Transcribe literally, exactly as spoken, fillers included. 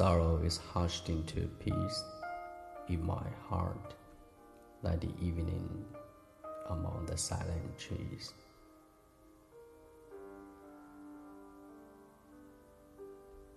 sorrow is hushed into peace in my heart, like the evening among the silent trees.